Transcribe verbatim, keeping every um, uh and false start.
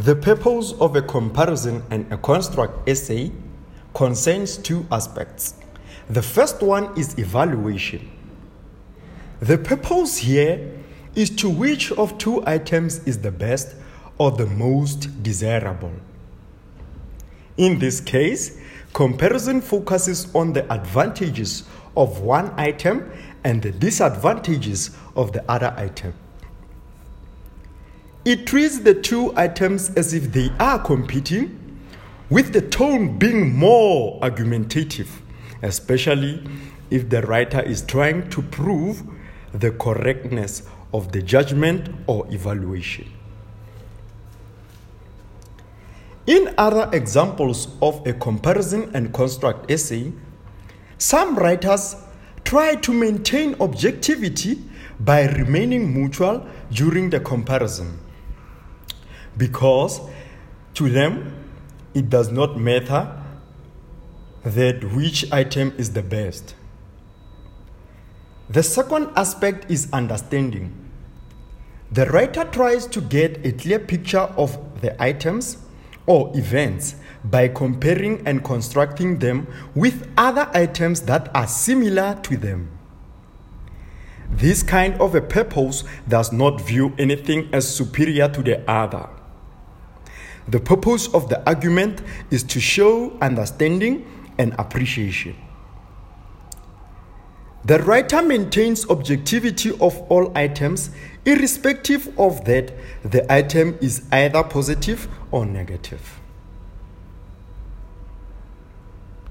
The purpose of a comparison and a construct essay concerns two aspects. The first one is evaluation. The purpose here is to which of two items is the best or the most desirable. In this case, comparison focuses on the advantages of one item and the disadvantages of the other item. It treats the two items as if they are competing, with the tone being more argumentative, especially if the writer is trying to prove the correctness of the judgment or evaluation. In other examples of a comparison and construct essay, some writers try to maintain objectivity by remaining neutral during the comparison, because to them it does not matter that which item is the best. The second aspect is understanding. The writer tries to get a clear picture of the items or events by comparing and constructing them with other items that are similar to them. This kind of a purpose does not view anything as superior to the other. The purpose of the argument is to show understanding and appreciation. The writer maintains objectivity of all items, irrespective of that the item is either positive or negative.